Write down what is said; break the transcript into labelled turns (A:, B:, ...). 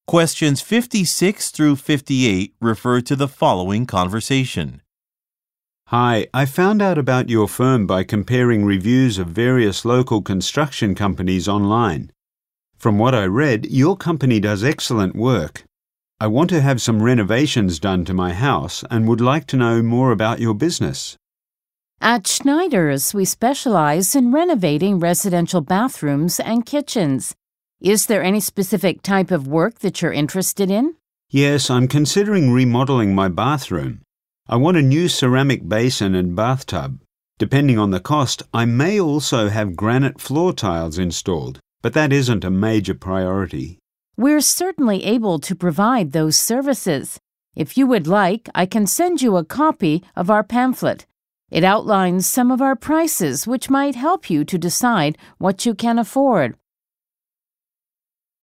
A: Questions 56 through 58 refer to the following conversation.
B: Hi, I found out about your firm by comparing reviews of various local construction companies online. From what I read, your company does excellent work. I want to have some renovations done to my house and would like to know more about your business.
C: At Schneider's, we specialize in renovating residential bathrooms and kitchens. Is there any specific type of work that you're interested in?
B: Yes, I'm considering remodeling my bathroom. I want a new ceramic basin and bathtub. Depending on the cost, I may also have granite floor tiles installed, but that isn't a major priority.
C: We're certainly able to provide those services. If you would like, I can send you a copy of our pamphlet. It outlines some of our prices, which might help you to decide what you can afford.